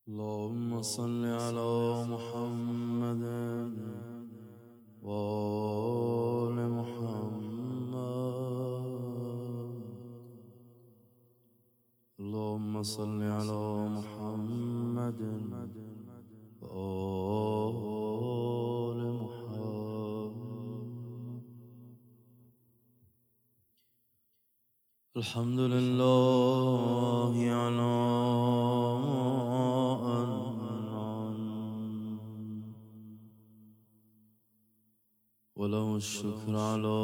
اللهم صل على محمد وآل محمد. اللهم صل على محمد وآل محمد. الحمد لله على وله الشكر على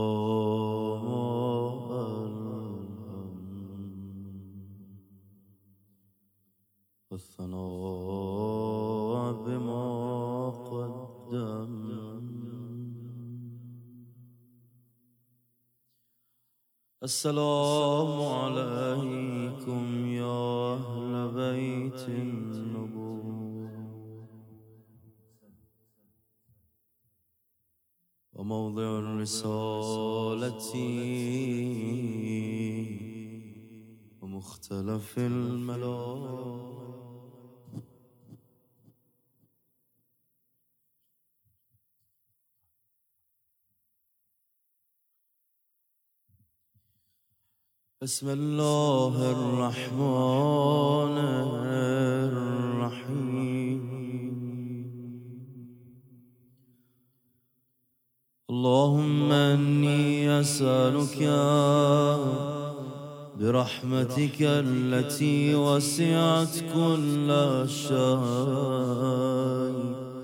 والثناء بما قدم. السلام عليكم يا أهل بيت النبوة وموضع الرسالة ومختلف الملائكة. بسم الله الرحمن الرحيم. اللهم إني أسألك برحمتك التي وسعت كل شيء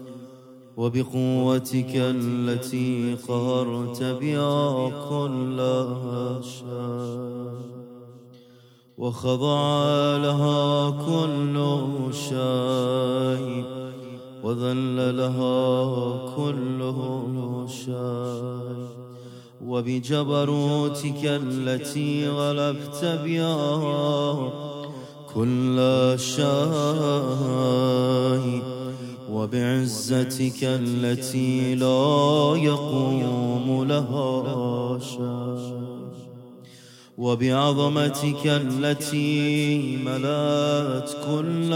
وبقوتك التي قهرت بها كل شيء وخضع لها كل شيء وذل لها كل شيء وبجبروتك التي غلبت بها كل شيء وبعزتك التي لا يقوم لها شيء وبعظمتك التي ملأت كل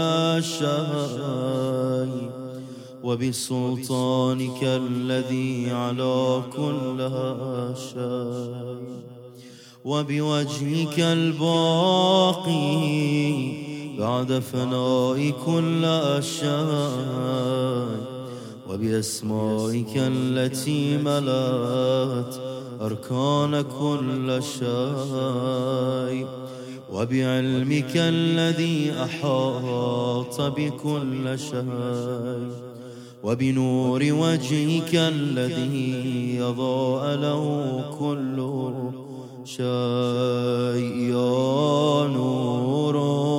شيء وبسلطانك الذي على كل شيء وبوجهك الباقي بعد فناء كل شيء وبأسمائك التي ملأت أركان كل شيء وبعلمك الذي أحاط بكل شيء وبنور وجهك الذي أضاء له كل شيء. يا نور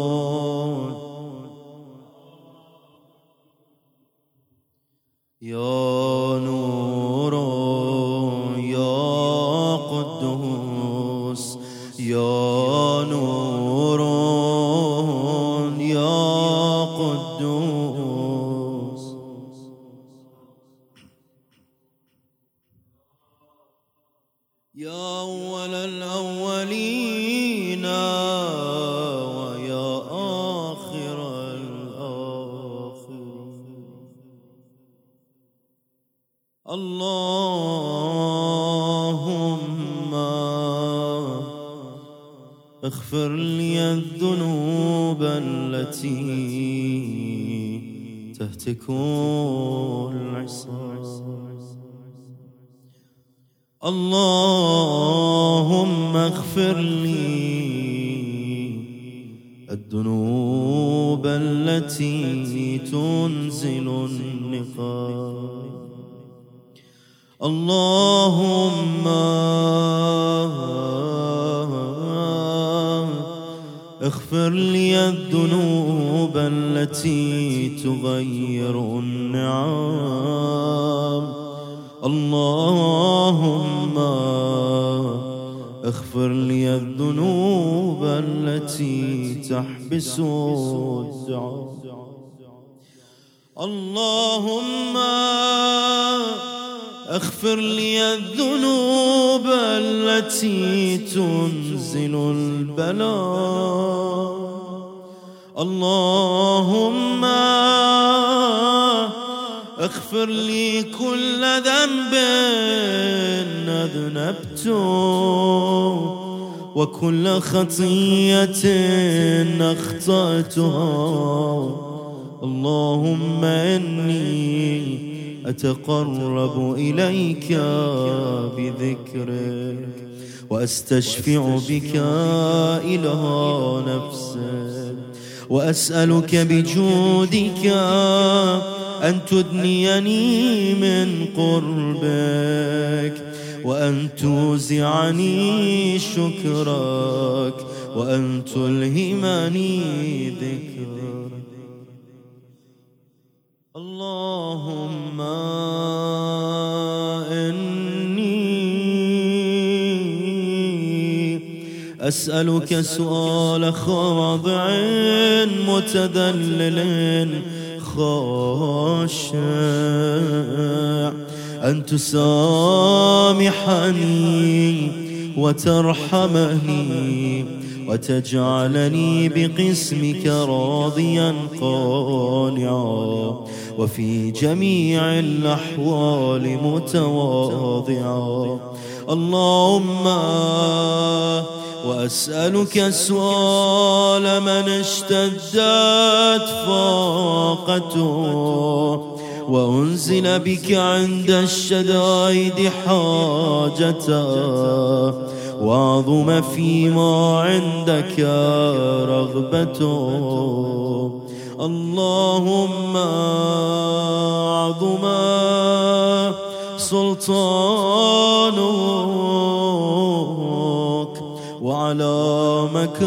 يا نور يا قدوس يا نور يا قدوس. يا أول الأولين ويا آخر الآخرين. اللهم اغفر لي الذنوب التي تهتك العصام. اللهم اغفر لي الذنوب التي تنزل النقام. اللهم اغفر لي الذنوب التي تغير النعم. اللهم اغفر لي الذنوب التي تحبس الدعاء. اللهم اغفر لي الذنوب التي تنزل البلاء. اللهم اغفر لي كل ذنب أذنبت وكل خطيئة أخطأتها. اللهم إني أتقرب إليك بذكرك وأستشفع بك إله نفسك وأسألك بجودك أن تدنيني من قربك وأن توزعني شكرك وأن تلهمني ذكرك. اللهم إني أسألك سؤال خاضع متذلل خاشع أن تسامحني وترحمني وتجعلني بقسمك راضيا قانعا وفي جميع الأحوال متواضعا. اللهم وأسألك سؤال من اشتدت فاقته وأنزل بك عند الشدائد حاجته وعظم فيما عندك رغبته. اللهم عظم سلطانك وعلى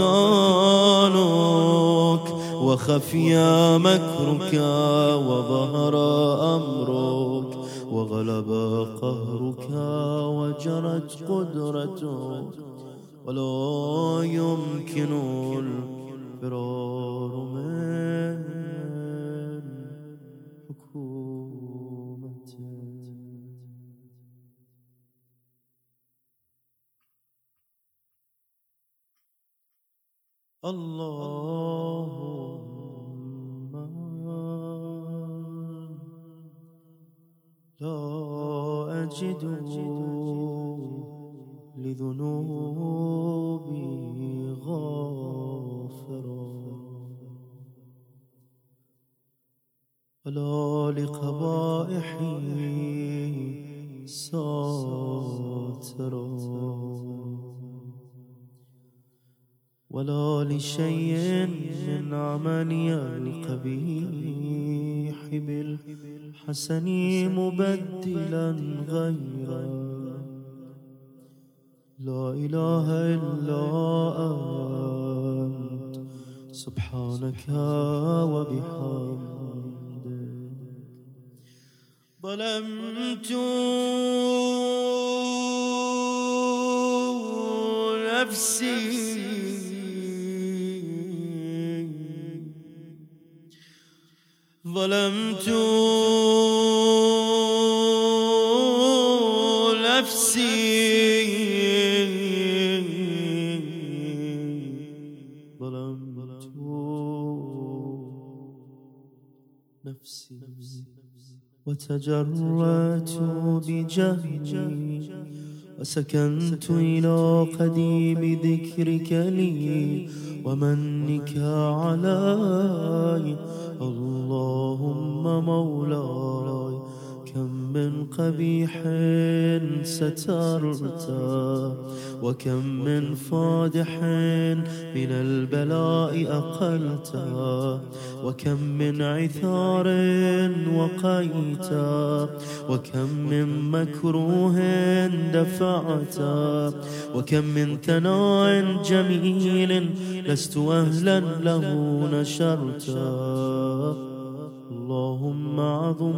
مكانك وخفي مكرك وظهر أمرك وغلب قهرك وجرت قدرتك ولا يمكن الفرار من حكومتك. اللهم لا أجد لذنوبي غافرا ولا لقبائحي ساترا ولا لشيء من عملي القبيح بالحسن مبدلا غيره. لا إله إلا أنت سبحانك وبحمدك. ظلمت نفسي ظلمت نفسي ظلمت نفسي وتجرأت بجهلي وسكنت إلى قديم ذكرك لي ومنك علي. اللهم مولاي كم من قبيح سترت وكم من فادح من البلاء أقلت وكم من عثار وقيت وكم من مكروه دفعت وكم من ثناء جميل لست أهلا له نشرت. اللهم عظم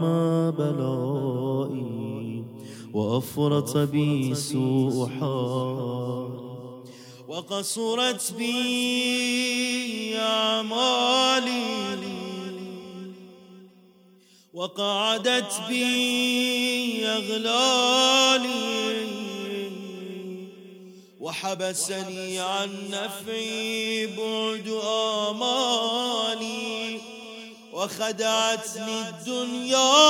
بلائي وأفرط بي سوء حالي وقصرت بي أعمالي وقعدت بي أغلالي وحبسني عن نفعي بعد آمالي، وخدعتني الدنيا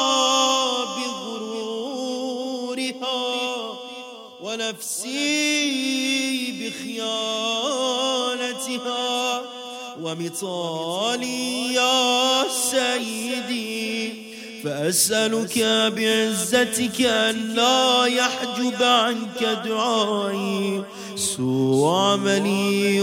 بغرورها، ونفسي بخيانتها، ومطالي يا سيدي. فأسألك بعزتك أن لا يحجب عنك دعائي سوء عملي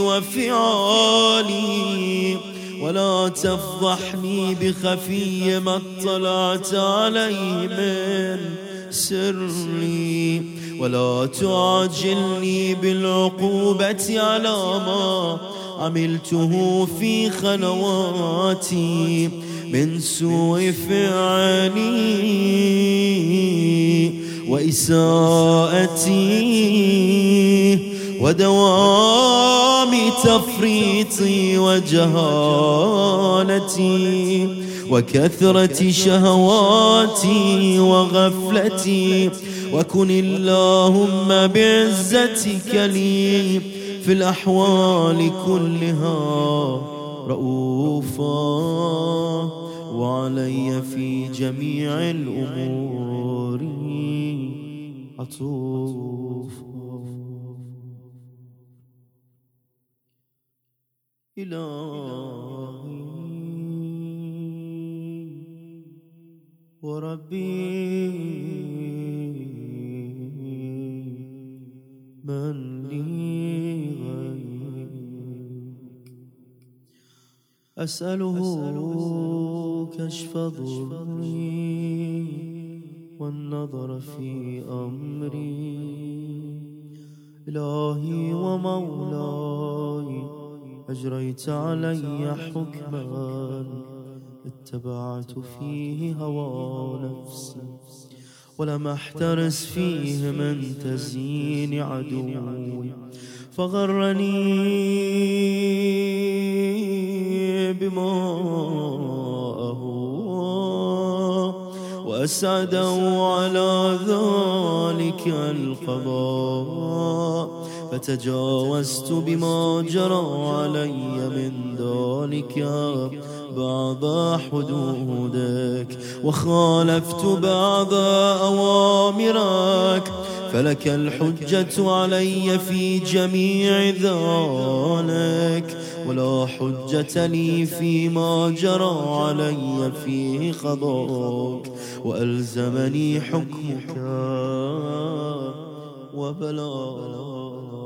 وفعالي، ولا تفضحني بخفي ما اطلعت عليه من سري، ولا تعجلني بالعقوبة على ما عملته في خلواتي من سوء فعلي وإساءتي ودوام تفريطي وجهالتي وكثرة شهواتي وغفلتي. وكن اللهم بعزتك لي في الأحوال كلها رؤوفا، وعلي في جميع الأمور عطوفا. إلهي وربي من لي غيرك، أسأله كشف ضري والنظر في أمري. إلهي ومولاي أجريت علي حكما اتبعت فيه هوى نفسي، ولم أحترس فيه من تزيين عدوي، فغرني بما أهوى وأسعده على ذلك القضاء، فتجاوزت بما جرى علي من ذلك بعض حدودك، وخالفت بعض أوامرك، فلك الحجة علي في جميع ذلك، ولا حجة لي فيما جرى علي فيه قضاءك، وألزمني حكمك وبلاغك.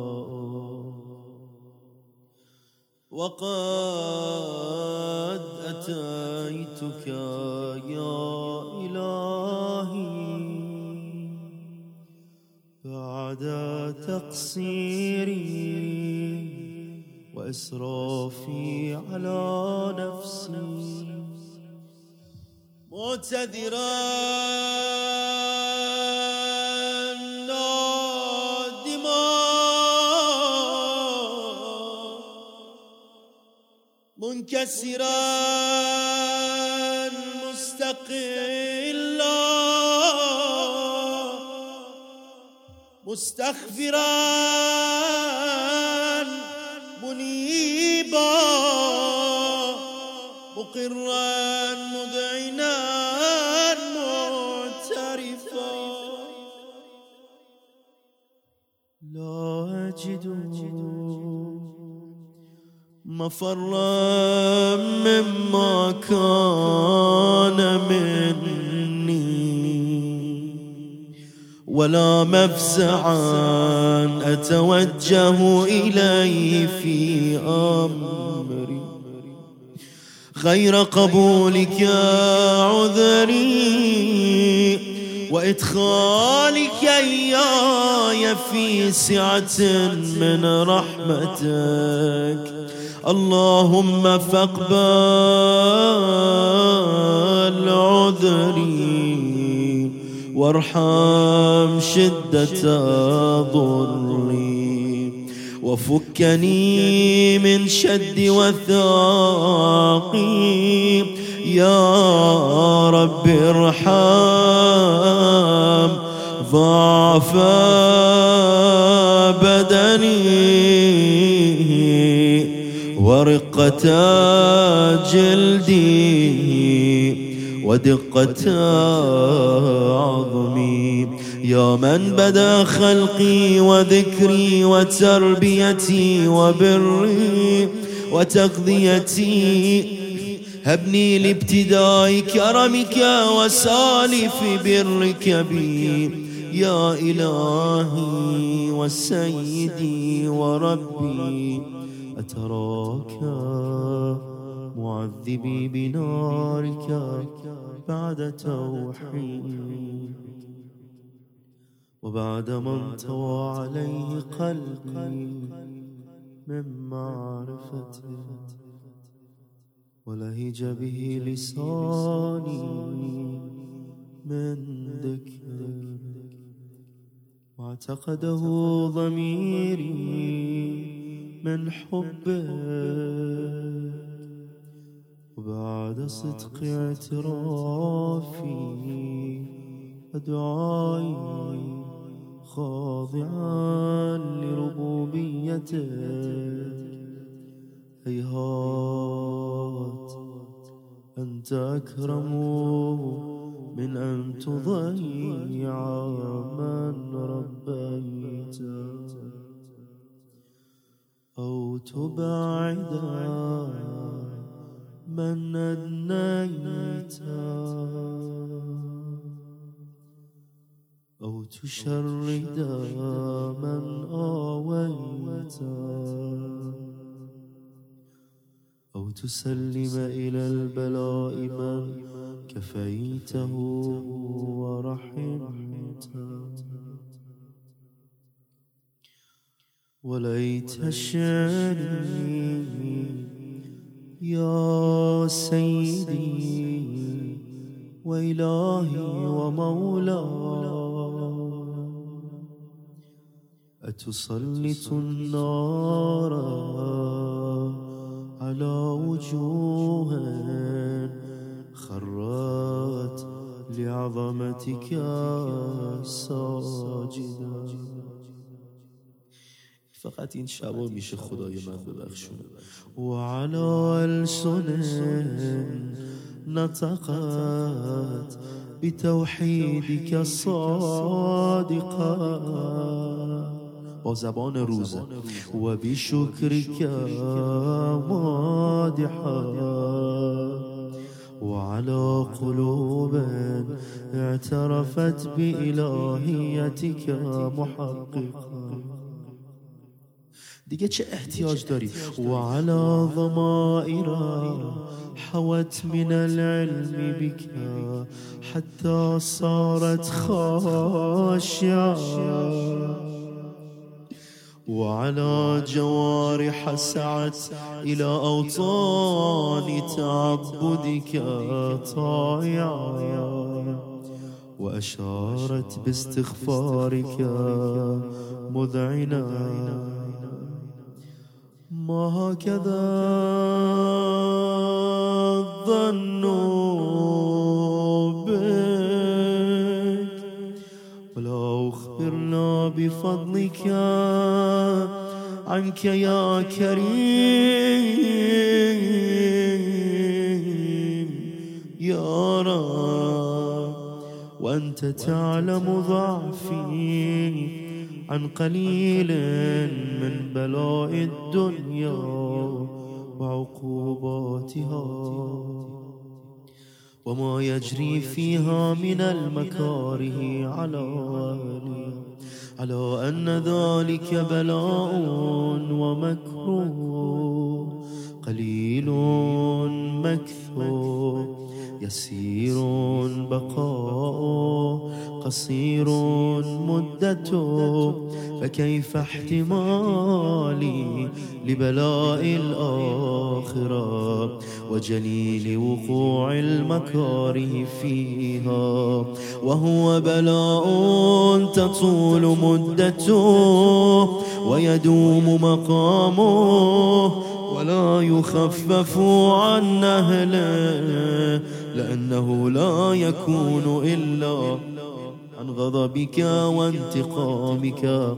وقد أتيتك يا إلهي بعد تقصيري وإسرافي على نفسي، معتذرا منكسرا مستقلا مستغفرا منيبا مقرا مذعنا معترفا، لا أجد مفرا مما كان مني، ولا مفزعا أتوجه إليه في أمري غير قبولك عذري وإدخالك إياي في سعة من رحمتك. اللهم فاقبل عذري وارحم شدة ضري، وفكني من شد وثاقي. يا رب ارحم ضعف بدني ورقة جلدي ودقة عظمي. يا من بدا خلقي وذكري وتربيتي وبري وتغذيتي، هبني لابتداء كرمك وسالف برك بي يا إلهي وسيدي وربي. أتراك معذبي بنارك بعد توحيد، وبعد ما انطوى عليه قلبي من معرفتك، ولهج به لساني من ذكرك، واعتقده ضميري من حبك، وبعد صدق اعترافي ودعائي خاضعا لربوبيتك، هيهات أنت أكرم من أن تضيع من ربيت أو تبعد من أدنيت أو تشرد من آويت أو تسلم إلى البلاء من كفيته ورحمته. وليت شأني يا سيدي وإلهي ومولاي، أتسلط النار على وجوه خرت لعظمتك ساجدة. فقط این شبا میشه خدای من ببخشونه. وعلى ألسن نطقت بتوحیدک الصادقة، با زبان روزه، و بشکرک مادحة، وعلى قلوب اعترفت بإلهیتک محققة. دیگه چه احتیاج داری؟ وعلى ضمائر حوت من العلم بك حتى صارت خاشعة، وعلى جوارح سعت إلى أوطان تعبدك طائعة، وأشارت باستغفارك مذعنة. ما هكذا الظن بك، ولا أخبرنا بفضلك عنك يا كريم يا رب، وأنت تعلم ضعفي عن قليل من بلاء الدنيا وعقوباتها، وما يجري فيها من المكاره على أن ذلك بلاء ومكروه قليل مكثور، يسير بقاء قصير مدته، فكيف احتمالي لبلاء الآخرة وجليل وقوع المكاره فيها، وهو بلاء تطول مدته ويدوم مقامه ولا يخفف عن أهله، لأنه لا يكون إلا عن غضبك وانتقامك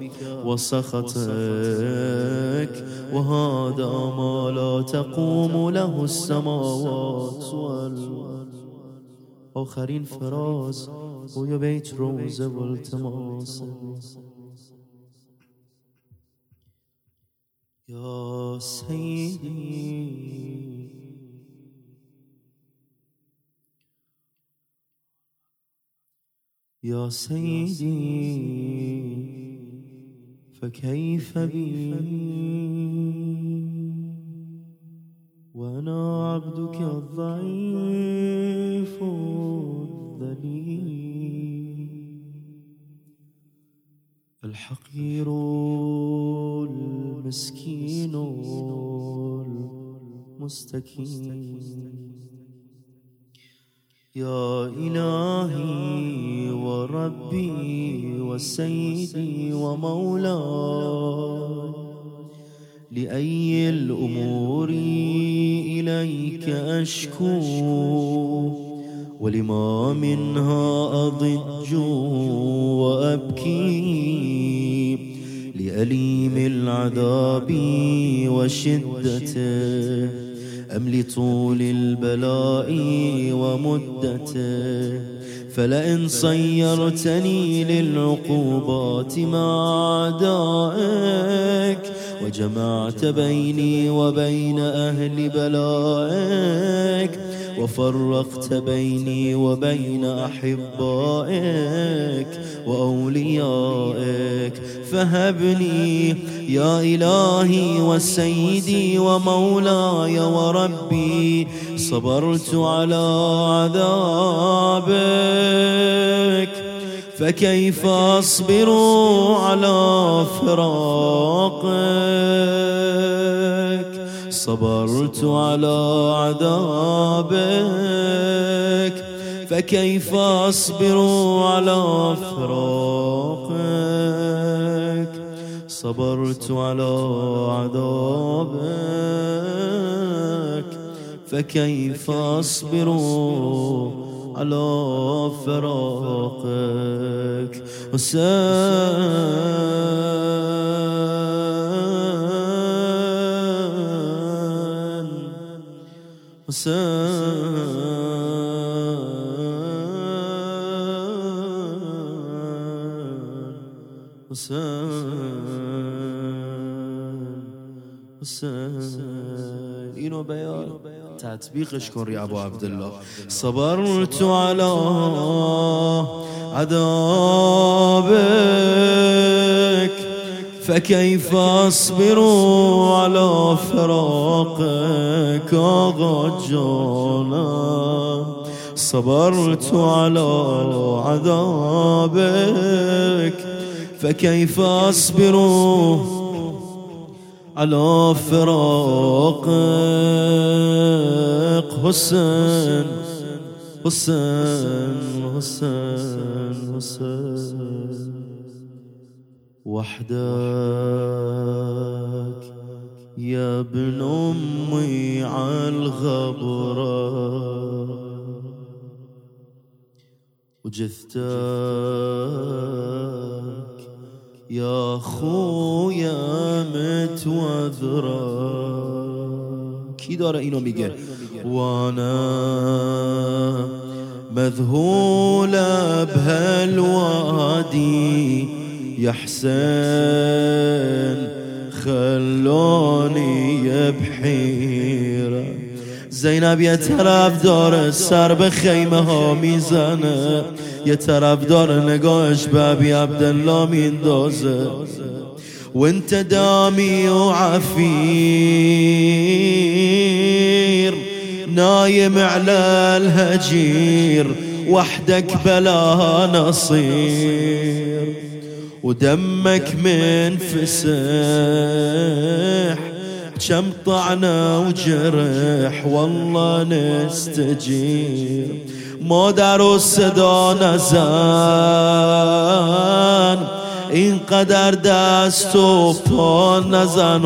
وسخطك، وهذا ما لا تقوم له السماوات والأرض. آخرین فراز روی بیت روزه و التماس. یا سیدی یا سیدی فكيف بي وأنا عبدك الضعيف الذليل الحقير المسكين المستكين. يا إلهي وربي وسيدي ومولاي، لأي الأمور إليك أشكو، ولما منها أضج وأبكي، لأليم العذاب وشدته أم لطول البلاء ومدته. فلئن صيرتني للعقوبات مع أعدائك، وجمعت بيني وبين أهل بلائك، وفرقت بيني وبين أحبائك وأوليائك، فهبني يا إلهي وسيدي ومولاي وربي. صبرت على عذابك، فكيف أصبر على فراقك. صبرت على عذابك، فكيف أصبر على فراقك. صبرت على عذابك، فكيف أصبر على فراقك. اینو بیار تطبیقش کن ری ابو عبدالله. صبرت على عذابك، فكيف أصبر على فراقك. آقا جانا صبرت على عذابك، فكيف أصبر على فراقك. حسين حسين حسين حسين وحدك يا ابن أمي عالغبرة، وجثتك يا خويا متوذرة. کی داره اینو میگه؟ وانا مذهول بهالوادي يا حسين خلوني بحيرة. زینب یه طرف داره سر به خیمه ها میزنه، یه طرف داره نگاهش به ابی عبدالله میندازه. وانت دامي وعفير نايم على الهجير، وحدك بلا نصير، ودمك منفسح كم طعنة وجرح والله نستجير. مادر الصدا نزن اینقدر دست و پا نزن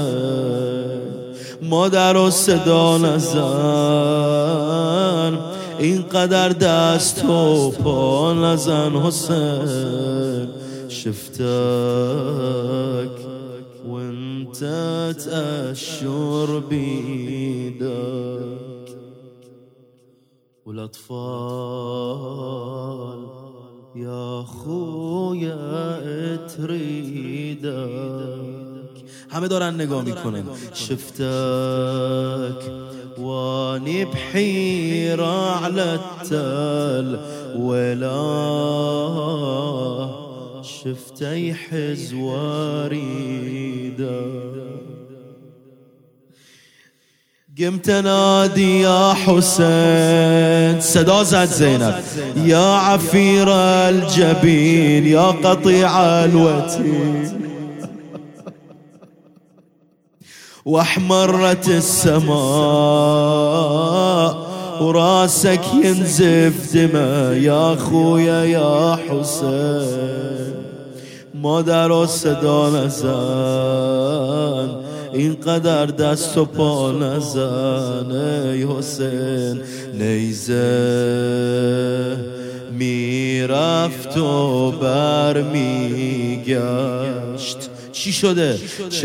حسین. مادر الصدا نزن اینقدر دست و پا نزن حسین. شفتك وانت تأشر بيدك والاطفال يا خويا تريدك. همه دارن نگاه میکنن. شفتك واني بحيرة على التل ولا شفتي حزواريدا. قمت نادي يا حسين، صدا زد زينب، يا عفير الجبين يا قطيع الوتين. واحمرت السماء وراسك ينزف دماء يا خويا يا حسين. مادر و صدا نزن، اینقدر دست و پا نزن ای حسین. نیزه میرفت و برمیگشت. چی شده؟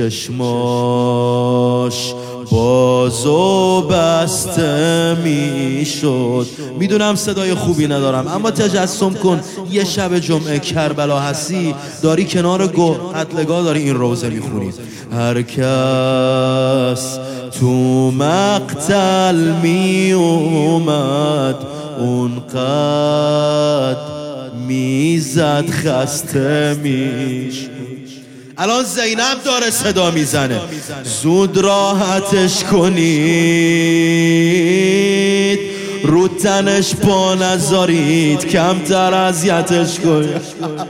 چشماش باز و بسته میشد. میدونم صدای خوبی ندارم، اما تجسم کن یه شب جمعه کربلا هستی، داری کنار قتلگاه داری این روزه میخونی. هر کس تو مقتل می اومد اونقدر میزد خسته میشد. الان زینب داره صدا میزنه، زود راحتش کنید، رو تنش پا نذارید، کمتر اذیتش کنید.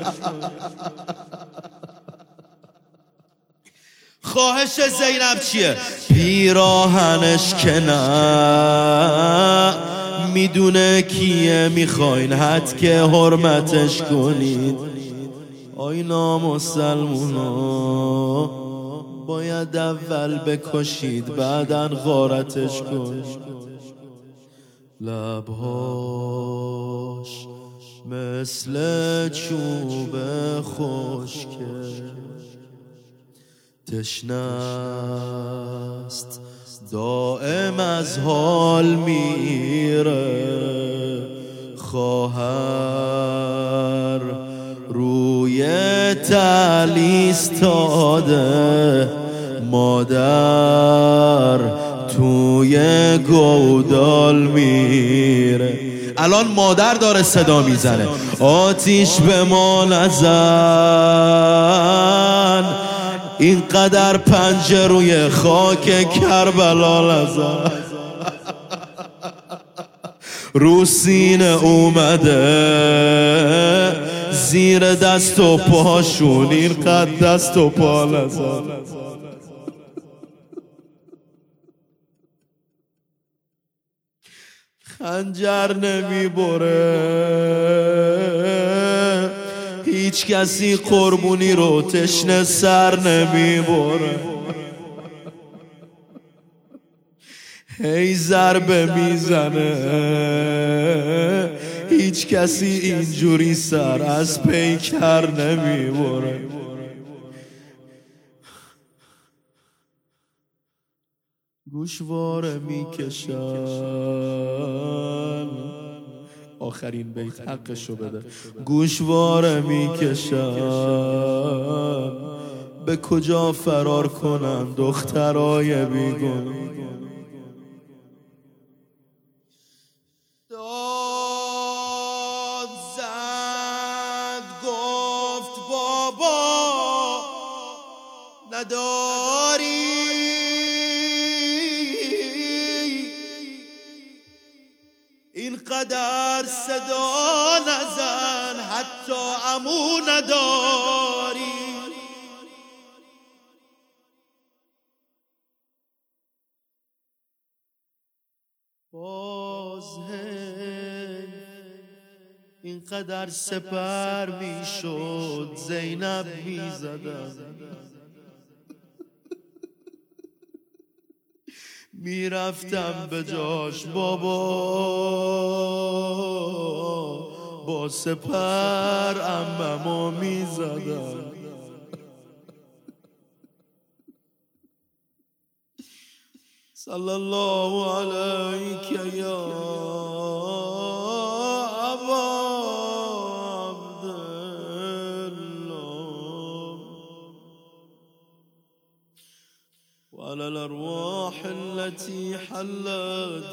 خواهش زینب چیه؟ پیراهنش که نه، میدونه کیه میخواین حد که حرمتش کنید. آی نامسلمونا باید اول بکشید بعدن غارتش کنید. لبهاش مثل چوب خشکه، تشنست دائم از حال میره. خواهر روی تل ایستاده، مادر توی گودال میره. الان مادر داره صدا میزنه، آتیش به ما نزن، اینقدر پنجه روی خاک کربلا نزن. رو سینه اومده زیر دست و پاشون، اینقدر دست و پا نزن. خنجر نمیبره، هیچ کسی قربونی رو تشنه سر نمیبره. هی ضربه میزنه، هیچ کسی اینجوری سر از پیکر نمیبره. گوشواره میکشن، آخرین بیت حقشو بده. گوشواره میکشن، به کجا فرار کنن دخترای بیگون. داد زد گفت بابا نداری، اینقدر صدا نزن حتی عمو نداری. باز اینقدر سپر میشد زینب میزدم، میرفتم به جاش بابا، با سپر عممو میزدم. صلی الله علیک یا ابا عبدالله وعلى الأرواح التي حلت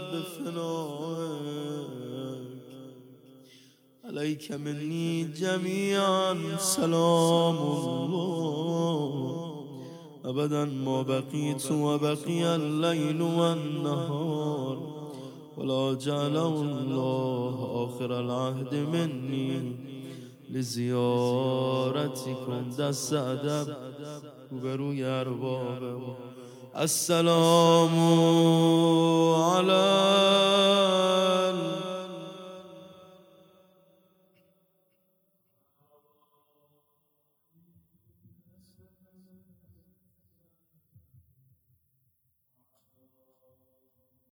بفنائك عليك مني جميعا سلام الله أبدا ما بقيت وبقي الليل والنهار ولا جعله الله آخر العهد مني لزيارتكم. دست ادب روبروی ارباب. السلام علیکم.